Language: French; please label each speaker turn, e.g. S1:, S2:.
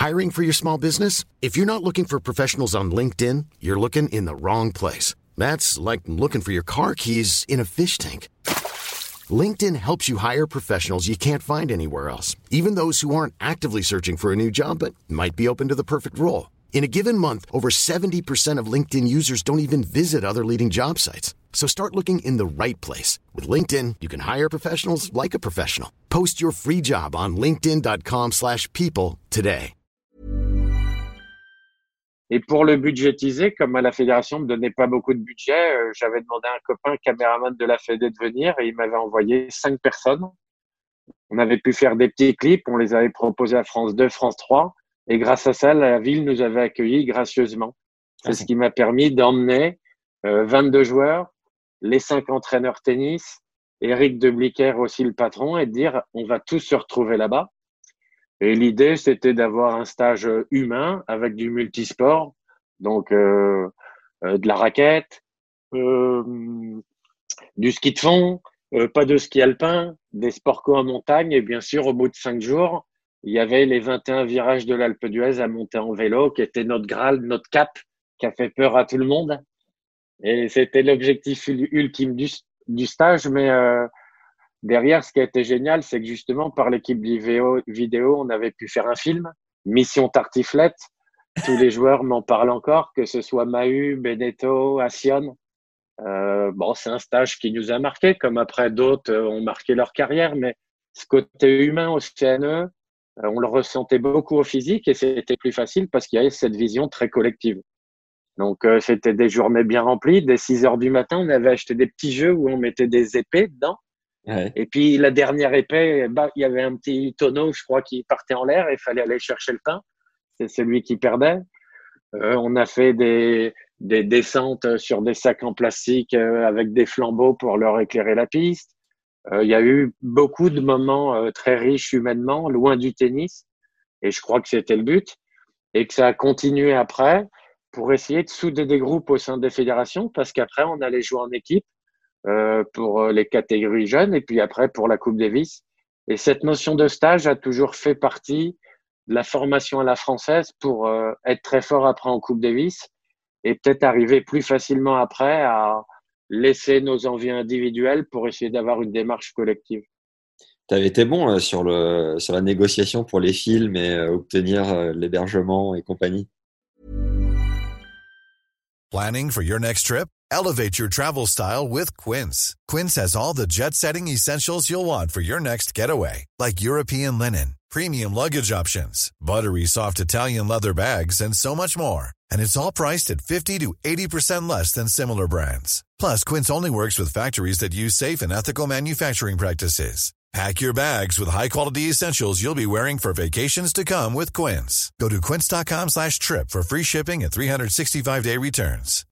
S1: Hiring for your small business? If you're not looking for professionals on LinkedIn, you're looking in the wrong place. That's like looking for your car keys in a fish tank. LinkedIn helps you hire professionals you can't find anywhere else, even those who aren't actively searching for a new job but might be open to the perfect role. In a given month, over 70% of LinkedIn users don't even visit other leading job sites. So start looking in the right place. With LinkedIn, you can hire professionals like a professional. Post your free job on linkedin.com/people today.
S2: Et pour le budgétiser, comme à la fédération ne me donnait pas beaucoup de budget, j'avais demandé à un copain caméraman de la Fédé de venir et il m'avait envoyé 5 personnes. On avait pu faire des petits clips, on les avait proposés à France 2, France 3. Et grâce à ça, la ville nous avait accueillis gracieusement. C'est ce qui m'a permis d'emmener 22 joueurs, les 5 entraîneurs tennis, Eric de Blicker aussi le patron, et de dire on va tous se retrouver là-bas. Et l'idée, c'était d'avoir un stage humain avec du multisport, donc de la raquette, du ski de fond, pas de ski alpin, des sports co en montagne. Et bien sûr, au bout de 5 jours, il y avait les 21 virages de l'Alpe d'Huez à monter en vélo, qui était notre Graal, notre cap, qui a fait peur à tout le monde. Et c'était l'objectif ultime du stage. Mais derrière, ce qui a été génial, c'est que justement, par l'équipe vidéo, on avait pu faire un film, Mission Tartiflette. Tous les joueurs m'en parlent encore, que ce soit Mahut, Beneteau, Assion. Bon, c'est un stage qui nous a marqué, comme après d'autres ont marqué leur carrière, mais ce côté humain au CNE, on le ressentait beaucoup au physique et c'était plus facile parce qu'il y avait cette vision très collective. Donc, c'était des journées bien remplies. Dès 6 heures du matin, on avait acheté des petits jeux où on mettait des épées dedans. Ouais. Et puis, la dernière épée, il y avait un petit tonneau, je crois, qui partait en l'air et il fallait aller chercher le pain. C'est celui qui perdait. On a fait des descentes sur des sacs en plastique avec des flambeaux pour leur éclairer la piste. Il y a eu beaucoup de moments très riches humainement, loin du tennis. Et je crois que c'était le but. Et que ça a continué après pour essayer de souder des groupes au sein des fédérations parce qu'après, on allait jouer en équipe pour les catégories jeunes et puis après pour la Coupe Davis. Et cette notion de stage a toujours fait partie de la formation à la française pour être très fort après en Coupe Davis et peut-être arriver plus facilement après à laisser nos envies individuelles pour essayer d'avoir une démarche collective.
S3: Tu avais été bon sur la négociation pour les films et obtenir l'hébergement et compagnie.
S4: Planning for your next trip? Elevate your travel style with Quince. Quince has all the jet-setting essentials you'll want for your next getaway, like European linen, premium luggage options, buttery soft Italian leather bags, and so much more. And it's all priced at 50 to 80% less than similar brands. Plus, Quince only works with factories that use safe and ethical manufacturing practices. Pack your bags with high-quality essentials you'll be wearing for vacations to come with Quince. Go to quince.com/trip for free shipping and 365-day returns.